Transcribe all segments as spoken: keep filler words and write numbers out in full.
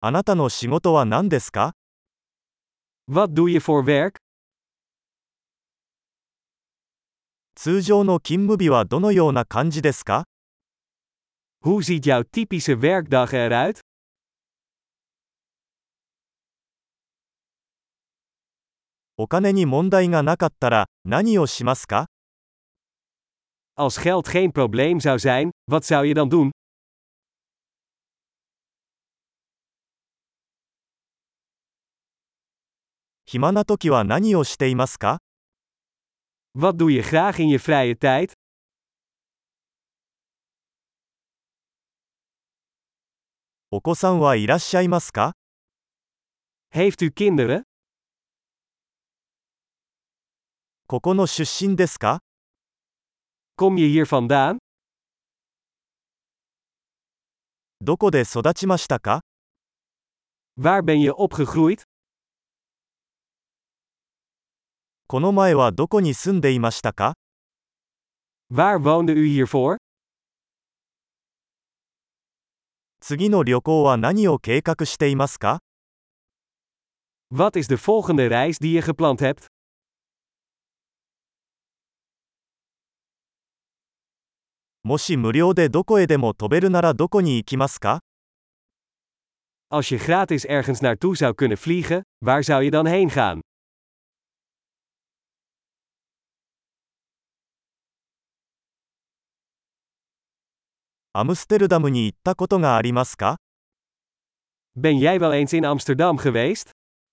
あなたの仕事は何ですか？ Wat doe je voor werk? 通常の勤務日はどのような感じですか？ Hoe ziet jouw typische werkdag eruit? お金に問題がなかったら何をしますか？ Als geld geen probleem zou zijn, wat zou je dan doen? 暇な時は何をしていますか？ Wat doe je graag in je vrije tijd? お子さんはいらっしゃいますか？ Heeft u kinderen? ここの出身ですか？ Kom je hier vandaan? どこで育ちましたか？ Waar ben je opgegroeid? この前はどこに住んでいましたか？ Waar woonde u hiervoor? 次の旅行は何を計画していますか？ Wat is de volgende reis die je gepland hebt? もし無料でどこへでも飛べるならどこに行きますか？ Als je gratis ergens naartoe zou kunnen vliegen, waar zou je dan heen gaan? アムステルダムに行ったことがありますか？ Ben jij wel eens in Amsterdam geweest?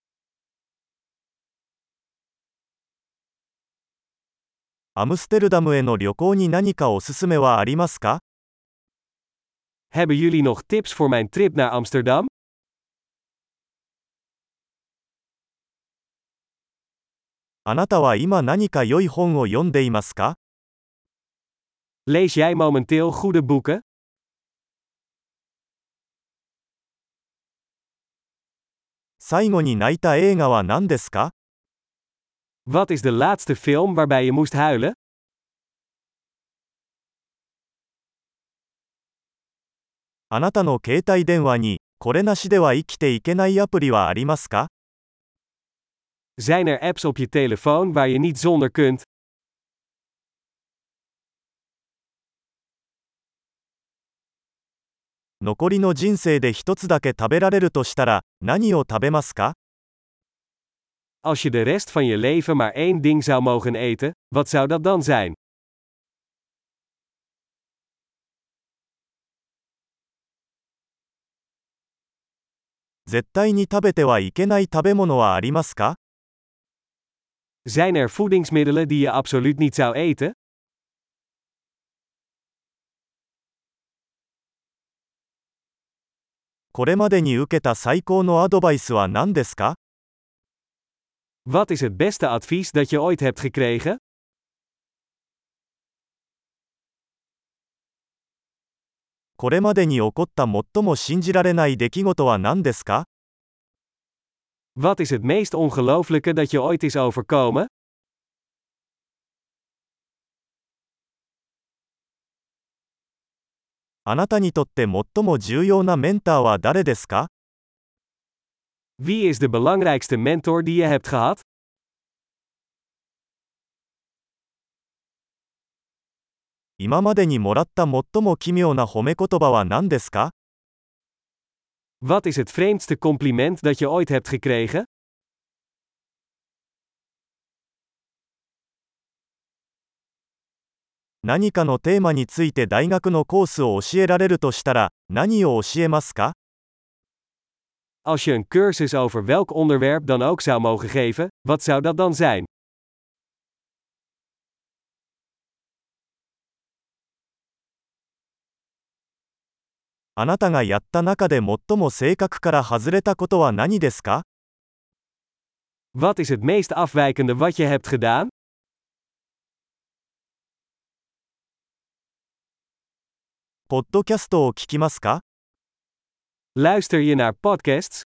アムステルダムへの旅行に何かおすすめはありますか？ Hebben jullie nog tips voor mijn trip naar Amsterdam? あなたは今何か良い本を読んでいますか？ Lees jij momenteel goede boeken? 最後に泣いた映画は何ですか？ Wat is de laatste film waarbij je moest huilen? あなたの携帯電話に、これなしでは生きていけないアプリはありますか？ Zijn er apps op je telefoon waar je niet zonder kunt? 残りの人生で一つだけ食べられるとしたら、何を食べますか？ Als je de rest van je leven maar één ding zou mogen eten, wat zou dat dan zijn? 絶対に食べてはいけない食べ物はありますか？ Zijn er voedingsmiddelen die je absoluut niet zou eten? これまでに受けた最高のアドバイスは何ですか？ Wat is het beste advies dat je ooit hebt gekregen? これまでに起こった最も信じられない出来事は何ですか？ Wat is het meest ongelooflijke dat je ooit is overkomen? あなたにとって最も重要なメンターは誰ですか？ Wie is de belangrijkste mentor die je hebt gehad? 今までにもらった最も奇妙な褒め言葉は何ですか？ Wat is het vreemdste compliment dat je ooit hebt gekregen? 何かのテーマについて大学のコースを教えられるとしたら、何を教えますか？ Als je een cursus over welk onderwerp dan ook zou mogen geven, wat zou dat dan zijn? あなたがやった中で最も性格から外れたことは何ですか？ Wat is het meest afwijkende wat je hebt gedaan? ポッドキャストを聞きますか？ Luister je naar podcasts?